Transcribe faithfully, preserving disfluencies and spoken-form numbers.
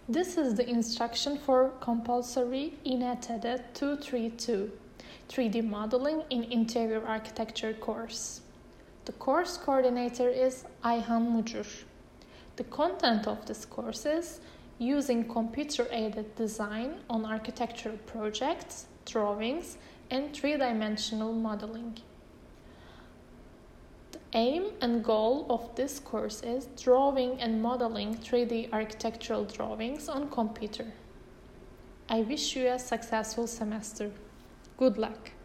This is the instruction for compulsory İ N T D two thirty-two, three D Modeling in Interior Architecture course. The course coordinator is Ayhan Mucur. The content of this course is using computer-aided design on architectural projects, drawings, and three-dimensional modeling. The aim and goal of this course is drawing and modeling three D architectural drawings on computer. I wish you a successful semester. Good luck!